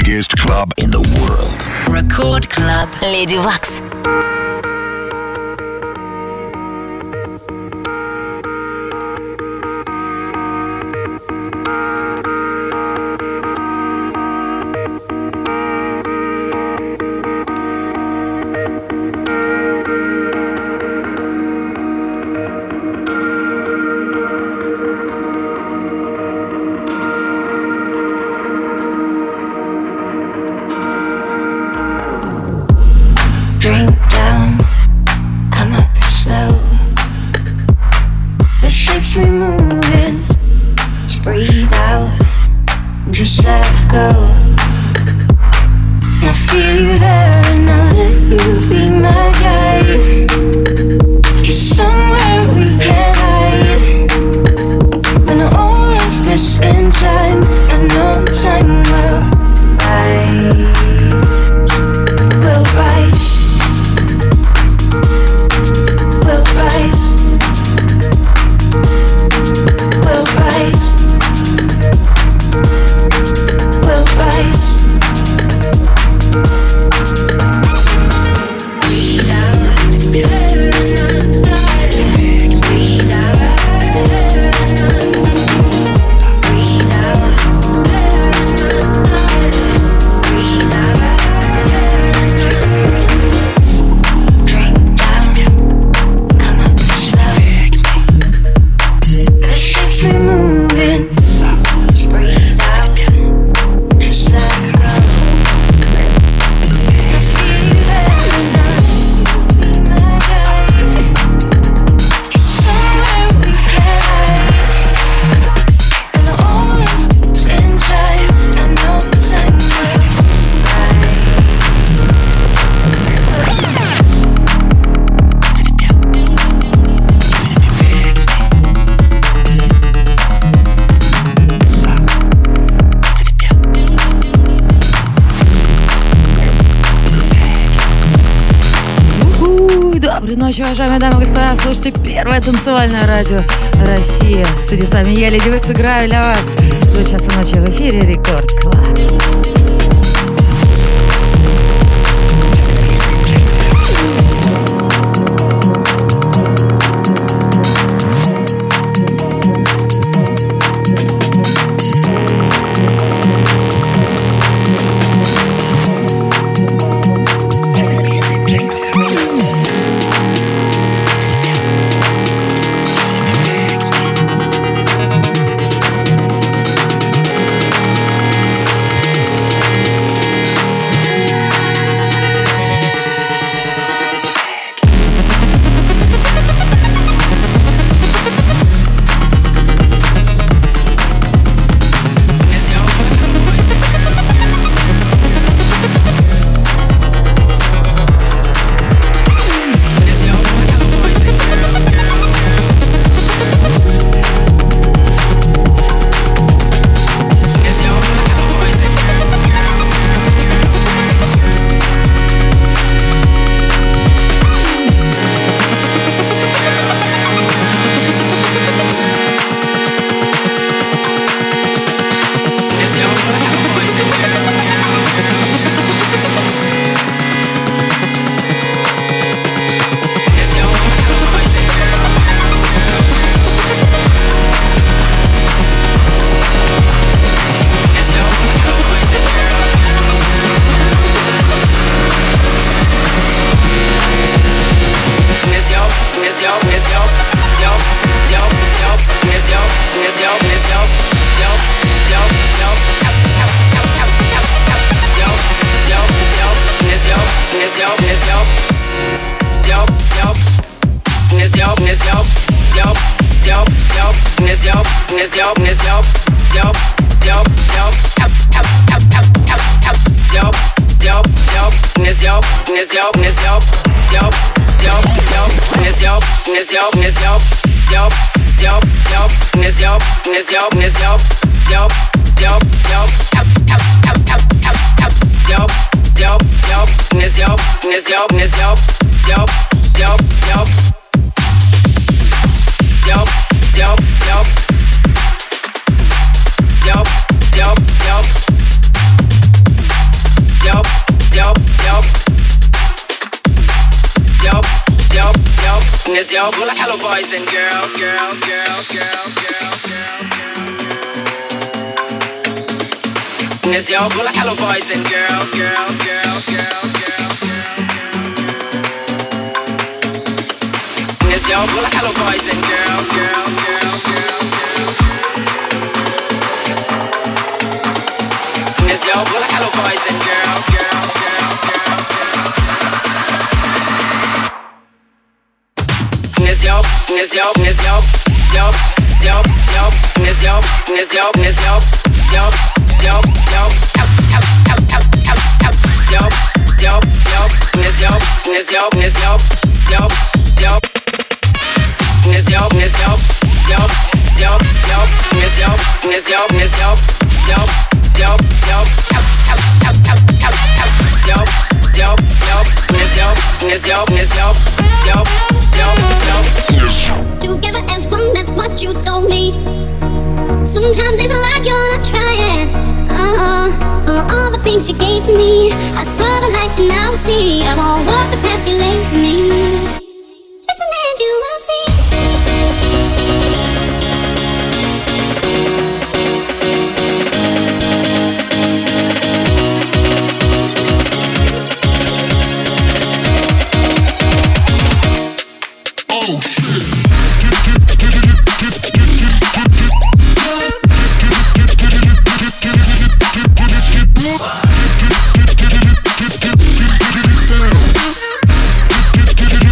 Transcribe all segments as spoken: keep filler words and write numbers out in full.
biggest club in the world. Record Club. Lady Wax. Drink down, come up slow. The shapes we moving, just breathe out, just let go. I feel you there and I'll let you be my guide. Just somewhere we can hide. When all of this in time, I know time will rise. Will rise. We'll rise. We'll rise. We'll rise. Breathe out. Breathe Доброй ночи, уважаемые дамы и господа. Слушайте первое танцевальное радио России. В студии с вами я, Леди Викс, играю для вас до часа ночи в эфире Рекорд Клаб. Yes, yo, pull like hello boys and girls, girls, girls, girls, girls, girls. Yes, yo, pull like hello boys and girls, girls, girls, girls, girls. Yes, yo, pull like hello boys and girls, girls, girls, girls, girls. Yes, yo, pull like hello boys and girls, girls, girls, girls, girls. Yes, yo, yes, yo, yes, yo, yo, yo, yo, yes, yo, yes, yo, yes, yo, yo, yo, yo, help, help, help, help, help, help, yo, yo, yo, yes, yo, yes, yo, yes, yo, yo, yo, yes, yo, yes, yo, yo, yo, yo, yes, yo, yes, yo, yes, yo, yo, yo, yo, help, help, help, help, help, help, yo, yo, yo, yes, yo, yes, yo, yes, yo, yo, yo, yo. Together as one, that's what you told me. Sometimes it's like you're not trying. Uh, for all the things you gave to me, I saw the light and now I see. I won't walk the path you laid for me. Listen and you will see. Oh shit. Get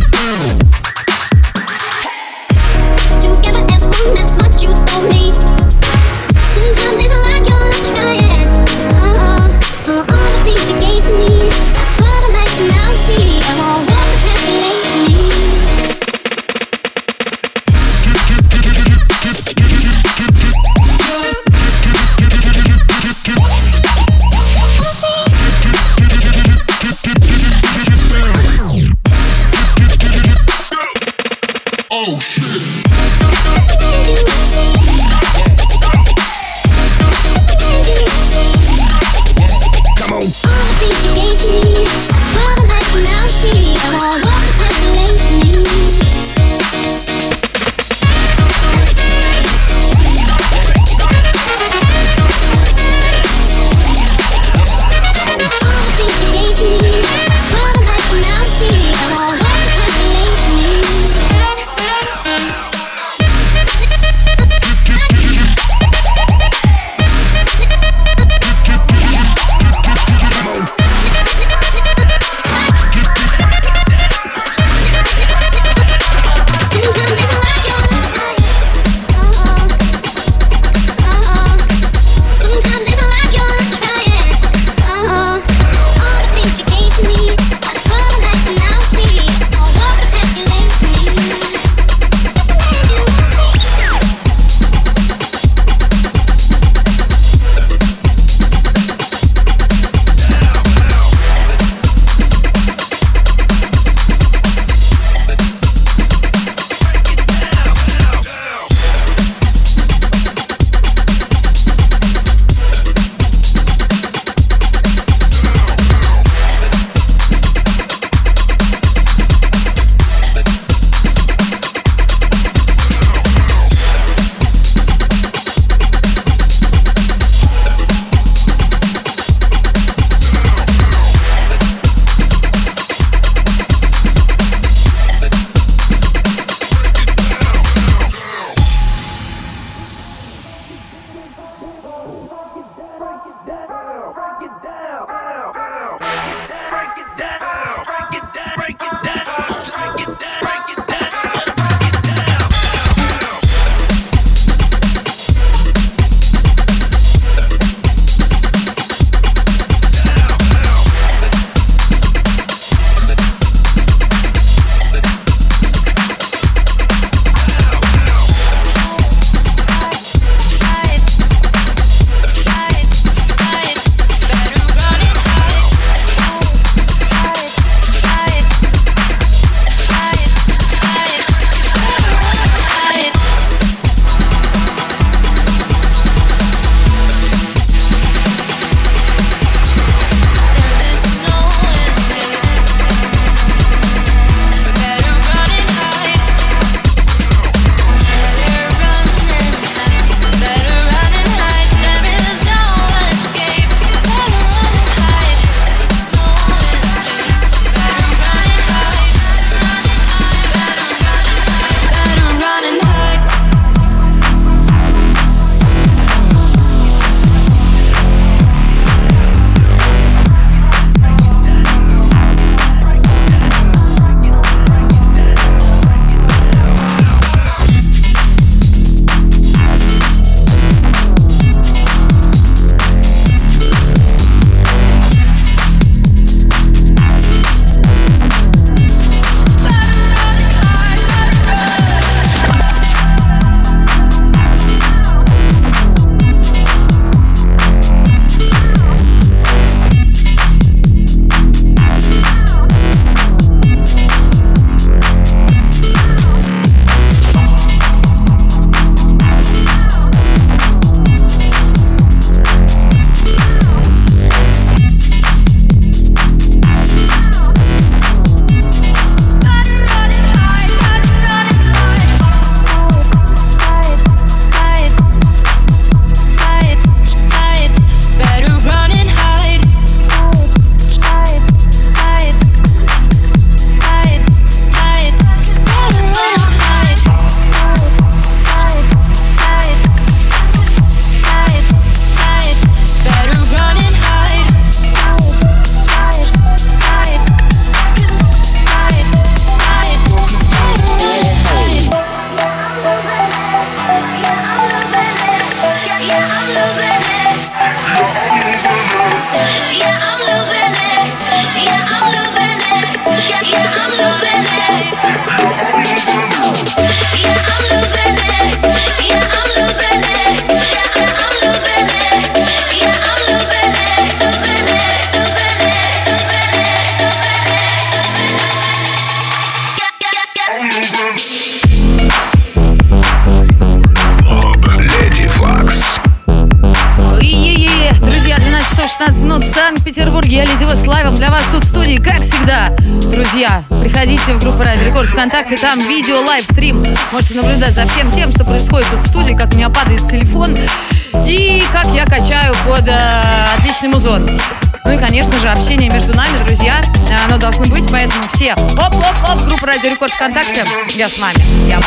вечера, шестнадцать минут в Санкт-Петербурге. Я Леди Векс лайвом для вас тут в студии, как всегда. Друзья, приходите в группу Радио Рекорд ВКонтакте, там видео, лайвстрим. Можете наблюдать за всем тем, что происходит тут в студии, как у меня падает телефон и как я качаю под э, отличный музон. Ну и, конечно же, общение между нами, друзья, оно должно быть, поэтому все оп-оп-оп, группа Радио Рекорд ВКонтакте, я с вами. Я.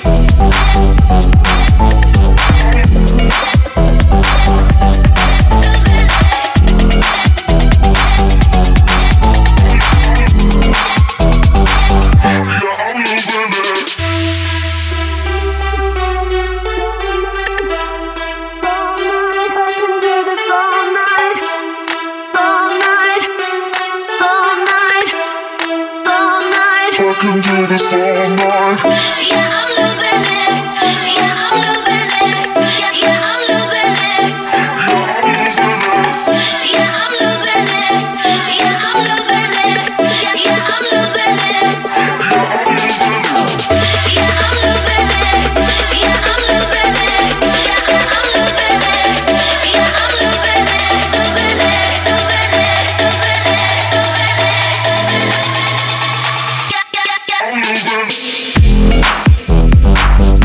Can do this all night. Yeah, I'm losing it. Yeah, I'm losing it. Yeah, yeah, I'm losing it. Yeah, I'm losing it. Yeah, I'm losing it. Yeah, yeah, I'm losing it. Yeah, I'm losing it. Yeah, I'm losing it. Yeah, I'm losing it. Yeah, I'm losing it. Losing it. Losing it. Losing it. Losing it. Losing it.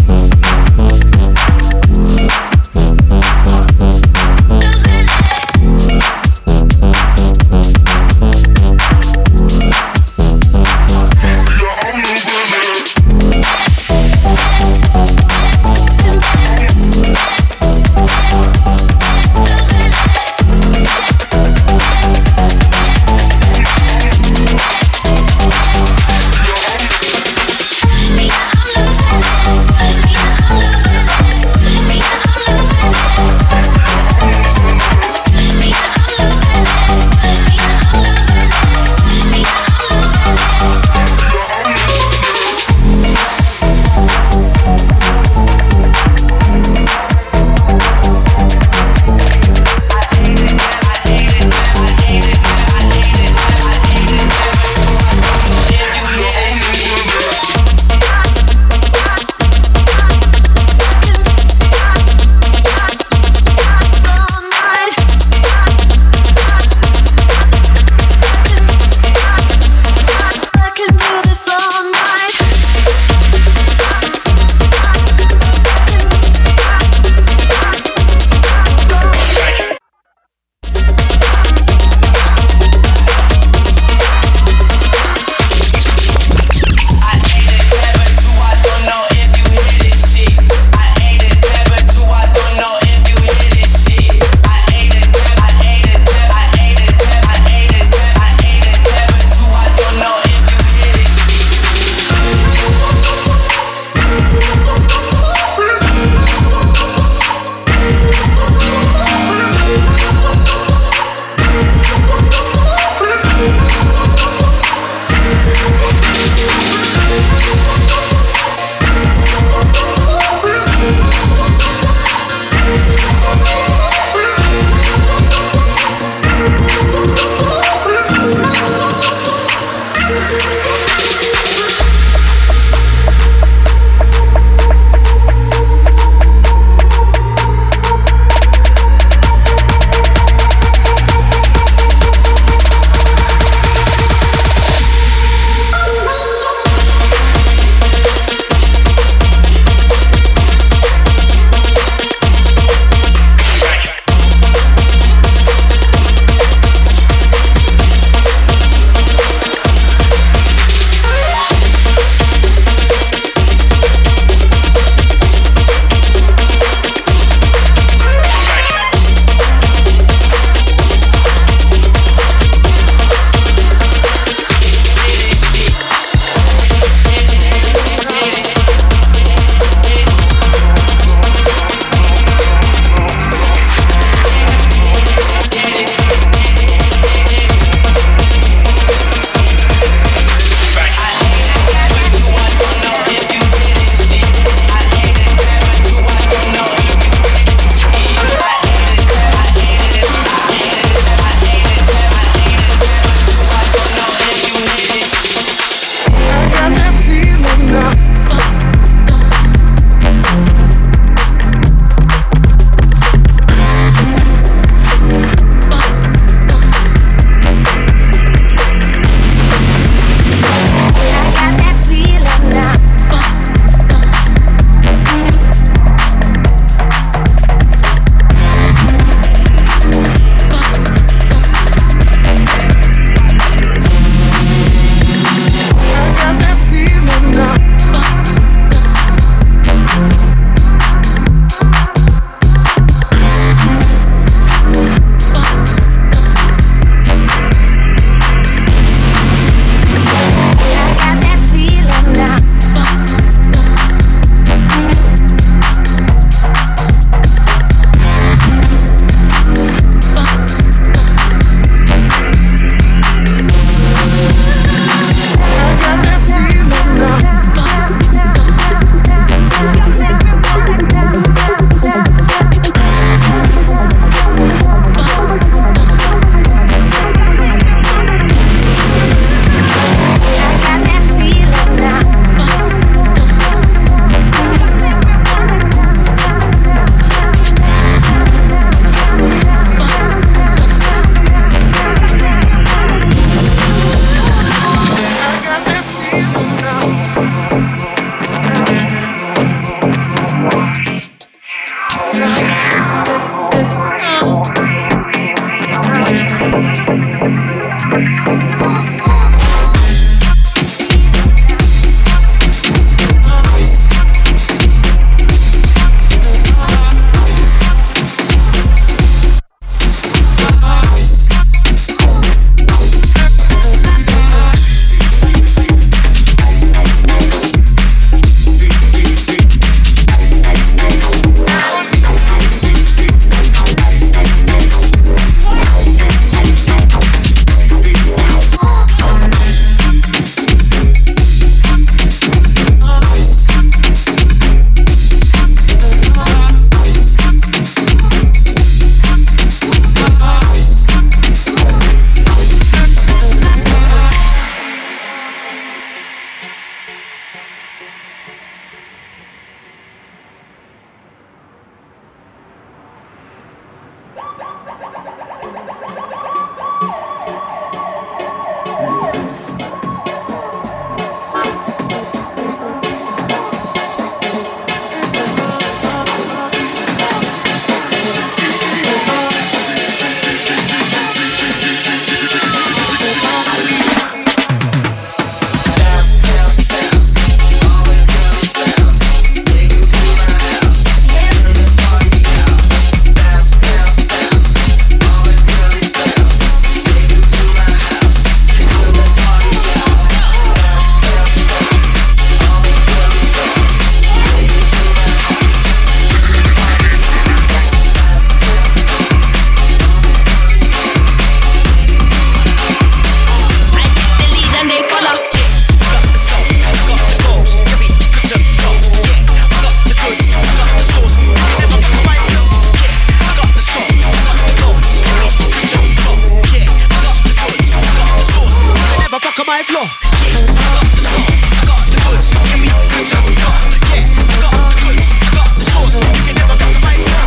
right flow. Yeah, I got the soul, I got the goods. Give me the top, yeah, I got the goods, I got the sauce. You can never got the right flow.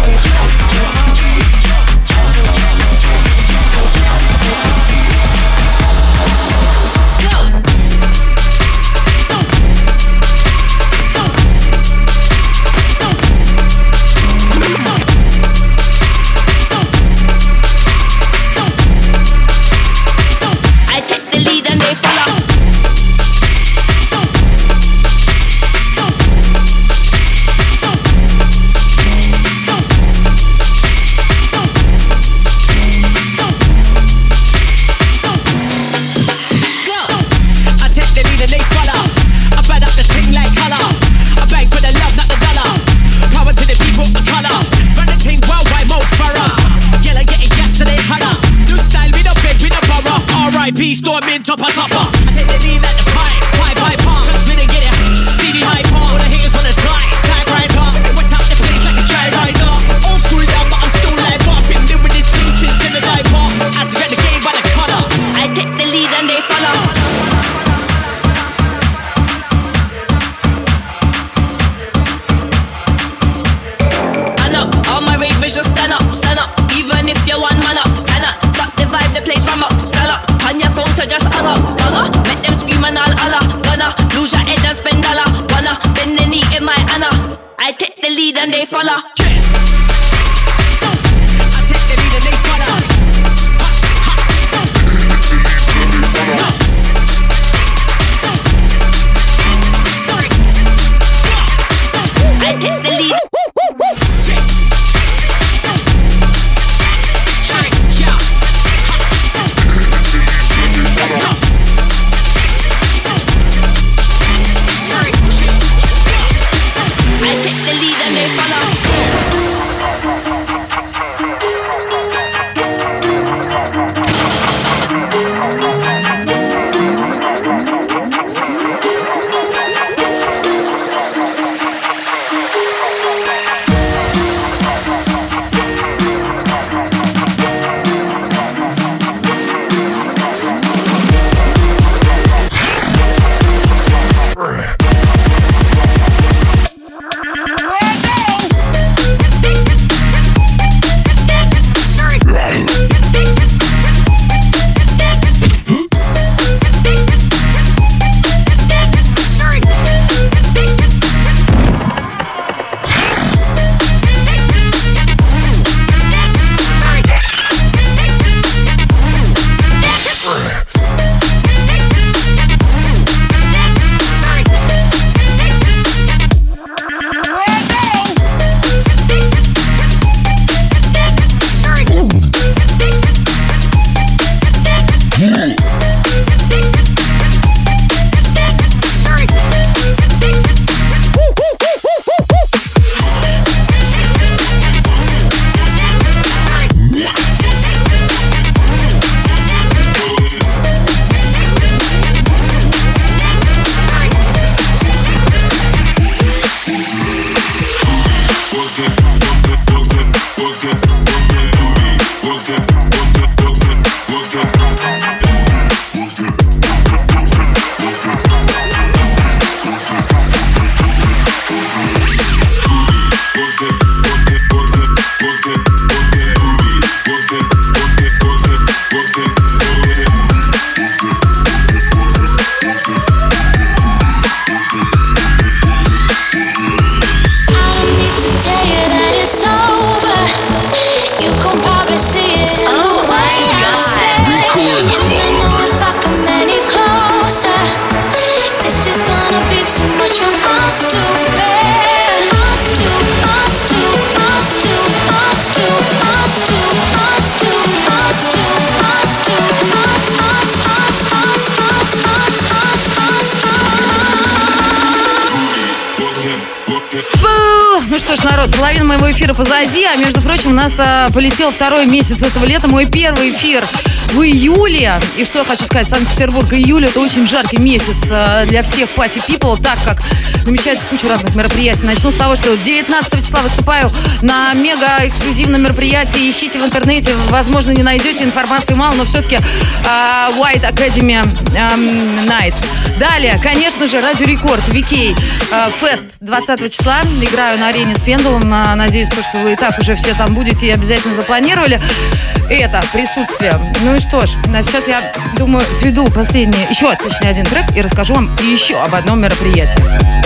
Storming topper topper. I take the lead like the pipe, pipe, pipe, pump. Cause we didn't get it, steady high pump. All the haters wanna tie, tie right up. Wet out the place like a dry riser. Old school down, but I'm still live up. Been doing this thing since in the diaper. Had to get the game by the color. I take the lead and they follow. I know, all my ravers just stand up, stand up. Even if you're one man up, cannot stop the vibe, the place from up, stand up. On your phone, so just hang up, gonna make them scream and all Allah. Gonna lose your head and spend dollar. Gonna bend the knee in my honor. I take the lead and they follow. I take the lead and they follow. I take the lead. половина моего эфира позади, а между прочим, у нас а, полетел второй месяц этого лета, мой первый эфир в июле. И что я хочу сказать, Санкт-Петербург, июль — это очень жаркий месяц а, для всех party people, так как намечается куча разных мероприятий. Начну с того, что девятнадцатого числа выступаю на мега-эксклюзивном мероприятии. Ищите в интернете, возможно, не найдете, информации мало, но все-таки а, White Academy а, Nights. Далее, конечно же, Радио Рекорд, ви кей Фест двадцатого числа. Играю на арене с Пендулом. Надеюсь, то, что вы и так уже все там будете и обязательно запланировали это присутствие. Ну и что ж, сейчас я думаю, сведу последний, еще, точнее, один трек и расскажу вам еще об одном мероприятии.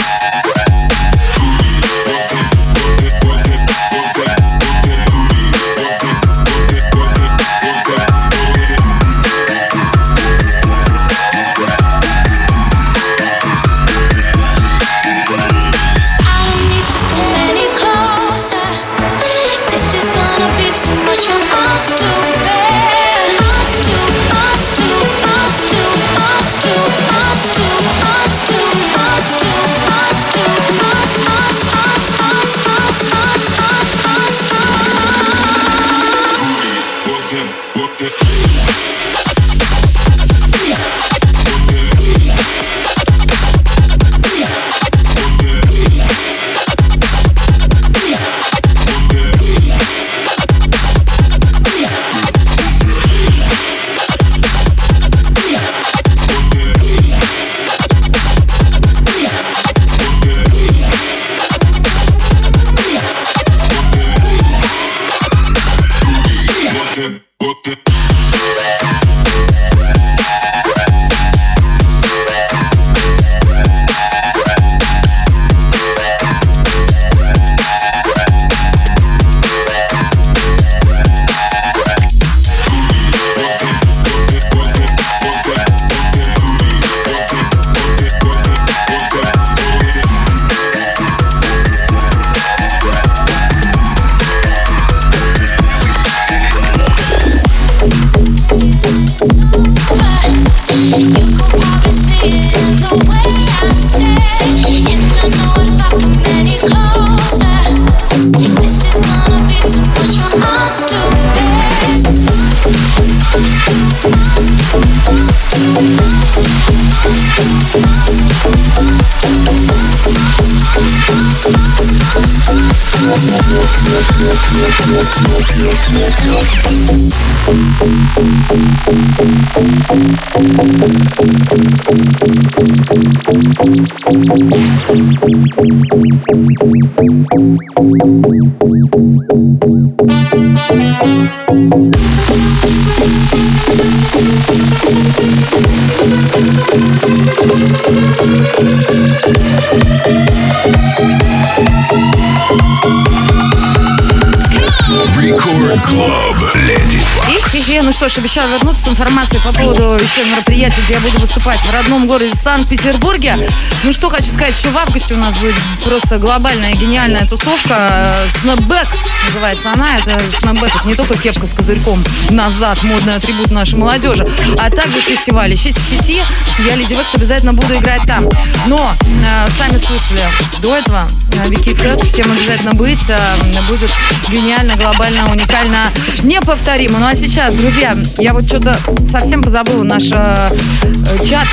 Record Club, Lady Fox. И, ну что ж, обещаю вернуться с информацией по поводу еще мероприятия, где я буду выступать в родном городе Санкт-Петербурге. Ну что хочу сказать, еще в августе у нас будет просто глобальная гениальная тусовка. Snapback называется она. Это Snapback, это не только кепка с козырьком назад, модный атрибут нашей молодежи, а также фестиваль. Ищите в сети, я Леди Векс обязательно буду играть там. Но, э, сами слышали до этого, э, ви кей Fest, всем обязательно быть. Э, будет гениально, глобально, уникально, неповторимо. Ну а сейчас, друзья, я вот что-то совсем позабыла наш э, чат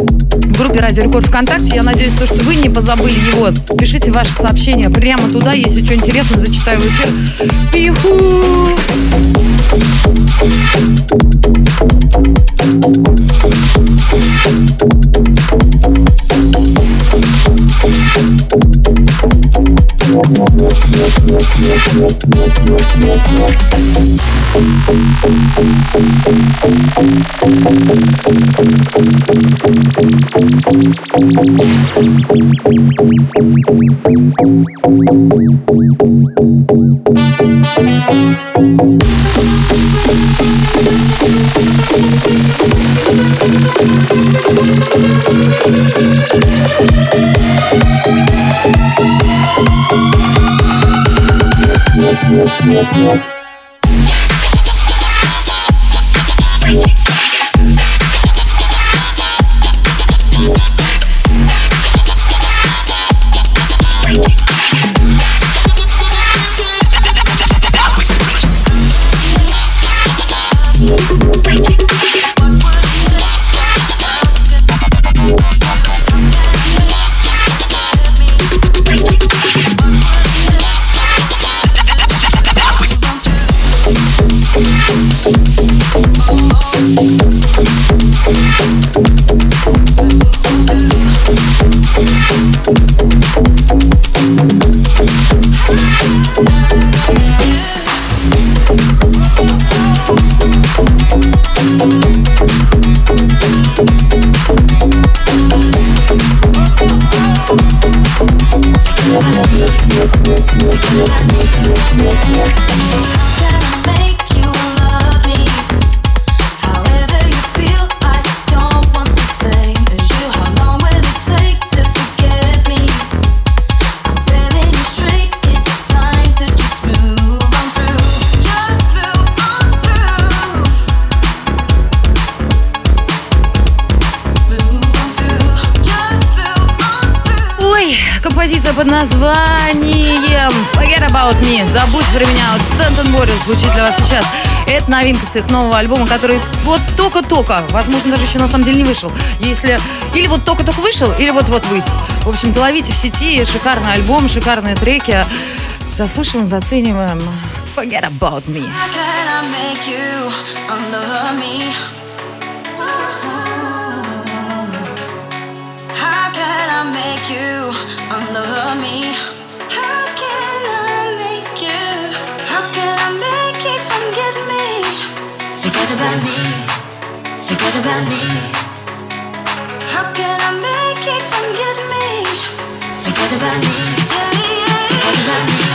в группе Радио Рекорд ВКонтакте. Я надеюсь, то, что вы не позабыли его. Пишите ваши сообщения прямо туда. Если что интересно, зачитаю в эфир. Пиху! Под названием Forget About Me. Забудь про меня. Вот Stanton Warriors звучит для вас сейчас. Это новинка с их нового альбома, который вот только-только, возможно, даже еще на самом деле не вышел. Если или вот только-только вышел, или вот-вот выйдет. В общем-то, ловите в сети. Шикарный альбом, шикарные треки. Заслушиваем, зацениваем. Forget About Me. Make you unlove me. How can I make you? How can I make you forget me? Forget about me. Forget about me. How can I make you forget me? Forget about me. Yeah, yeah. Forget about me.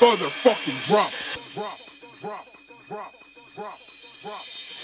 motherfucking drop. Drop, drop, drop, drop, drop.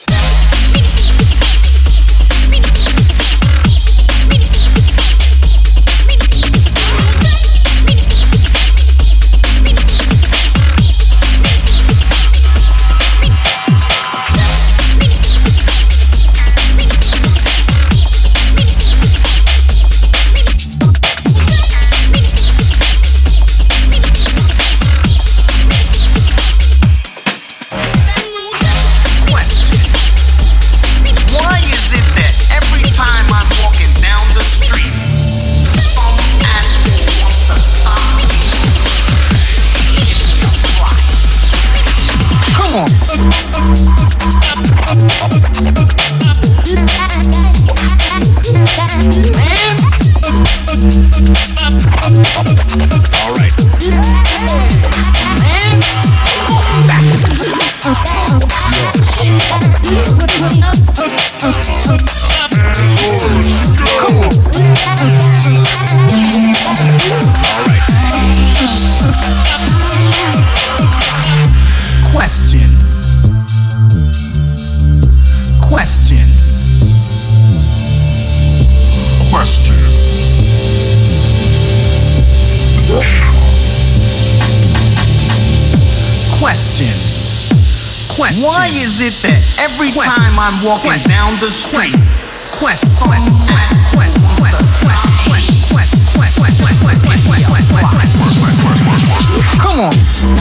Why is it that every time I'm walking down the street, quest, quest, quest, quest, quest, quest, quest, quest, quest, quest, quest, quest, quest, come on.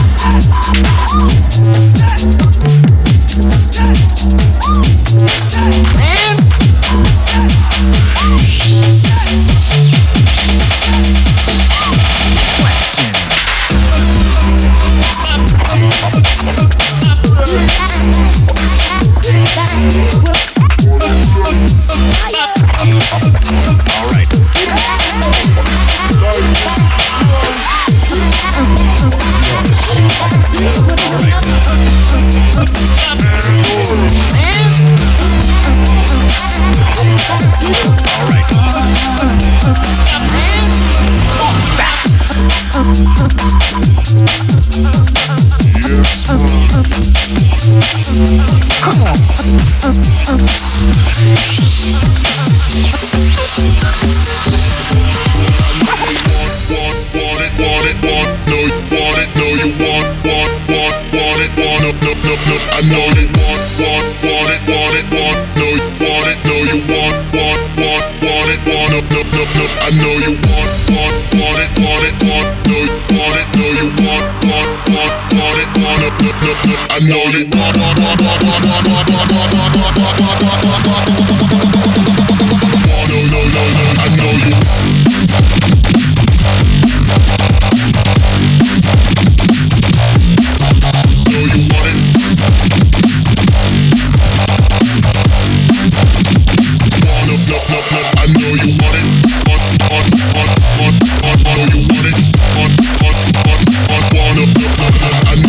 Man.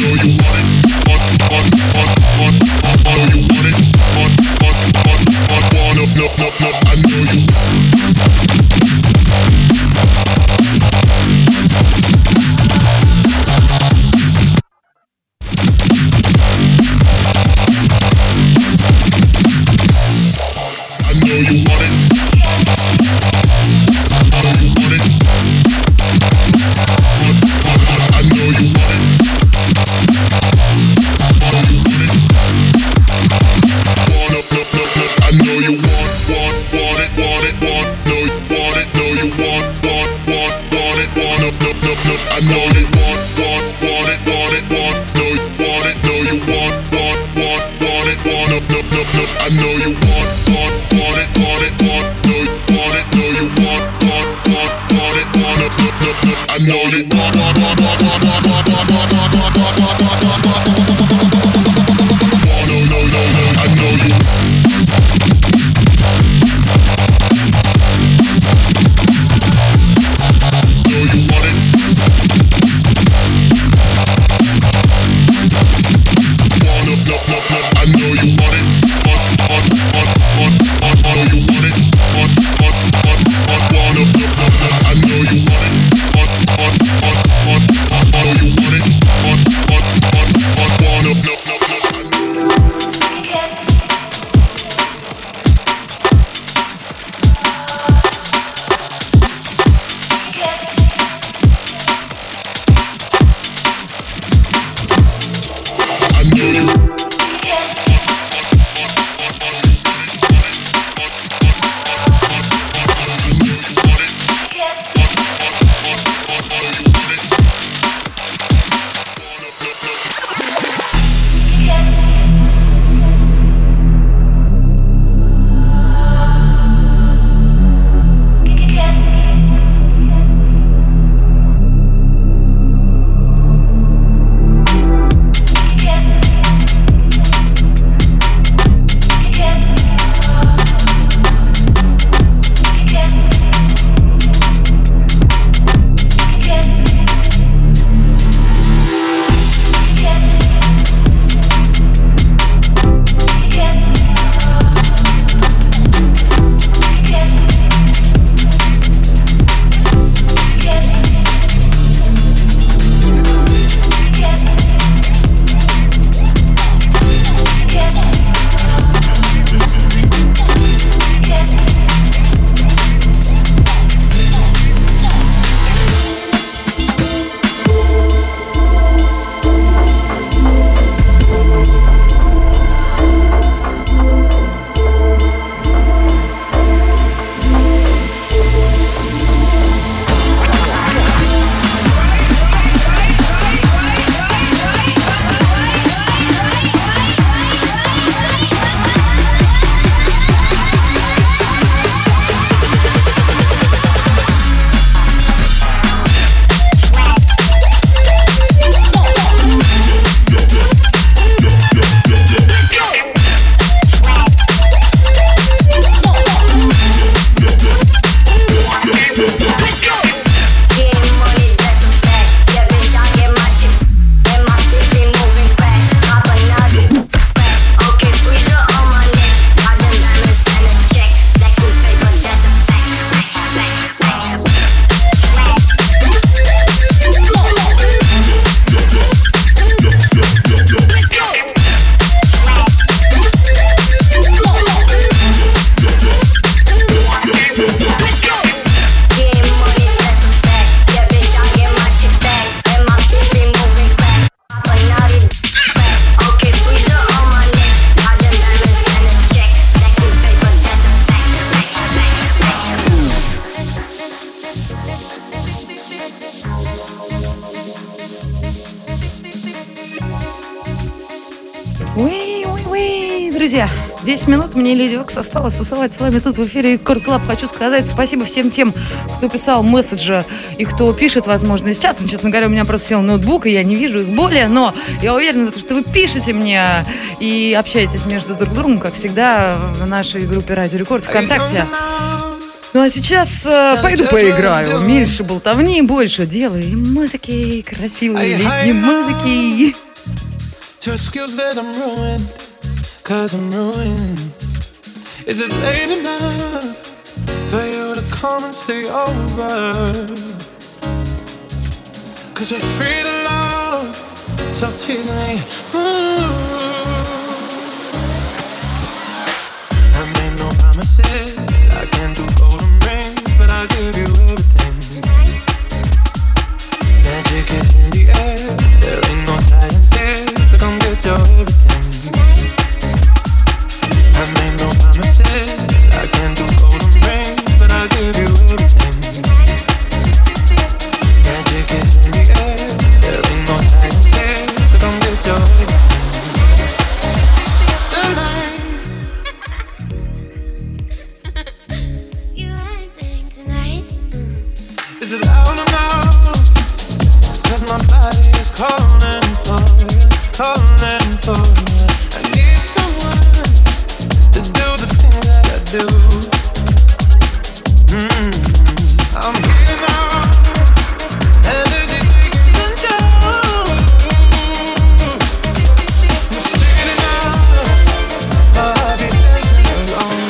On, on, on, on, on, you want it? On, on, on, on. Уи-уи-уи. Друзья, десять минут мне Леди Вакс осталось тусовать с вами тут в эфире Рекорд Клаб. Хочу сказать спасибо всем тем, кто писал месседжи и кто пишет, возможно, сейчас. Ну, честно говоря, у меня просто сел ноутбук, и я не вижу их более, но я уверена, что вы пишете мне и общаетесь между друг другом, как всегда, в нашей группе Радио Рекорд ВКонтакте. Ну а сейчас э, пойду поиграю. Меньше болтовни, больше дела и музыки, красивой летней музыки. To excuse that I'm ruined, cause I'm ruined. Is it late enough for you to come and stay over? Cause we're free to love, stop teasing me. Ooh. I made no promises, I can't do golden rings, but I'll give you everything. Magic is in the air, there ain't no silence here. Come get your everything. I made no promises, I can't do golden rings, but I'll give you everything. Magic is in the air, there ain't no silence here, so come get your everything. Tonight. You anything tonight? Mm. Is it loud enough? Cause my body is calling for you. Calling for you. I need someone to do the thing that I do. Mm-hmm. I'm getting out, energy taking control. I'm standing up, but I'll be dancing alone.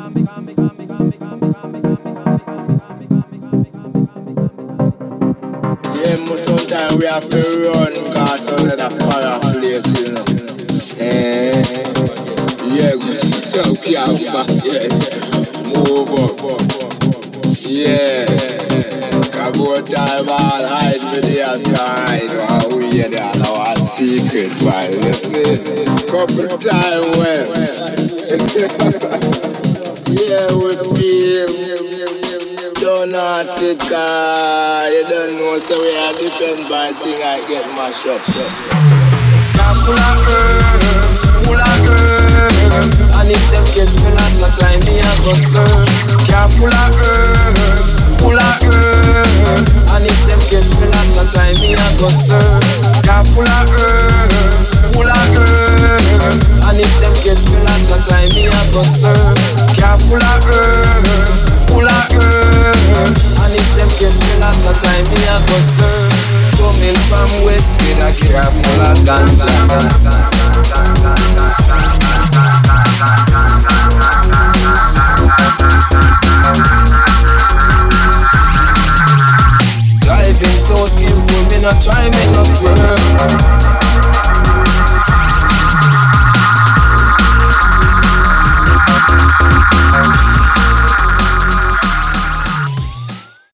Yeah, most of the time we have to run cause under the fire place, you know. Eh, yeah, we still can't back, yeah. Move up, yeah. About time all hide with the outside. While we hear that our secret, man. You see, couple time well. Yeah, we feel. Don't not it, uh, you don't know, so we are depend by thing I get mashed up. Full of herbs, full of herbs. And if them catch me not the time me a go serve. Car full of herbs, full of herbs. And if them catch me not the time me a go serve. Car full of herbs, full of herbs. And if them catch me not the time me a go serve. Car full of herbs, full of herbs. And if them catch me not the time me a go serve. Come Coming from west with a car full of ganja. Driving so skillful, me not try, me not swerve.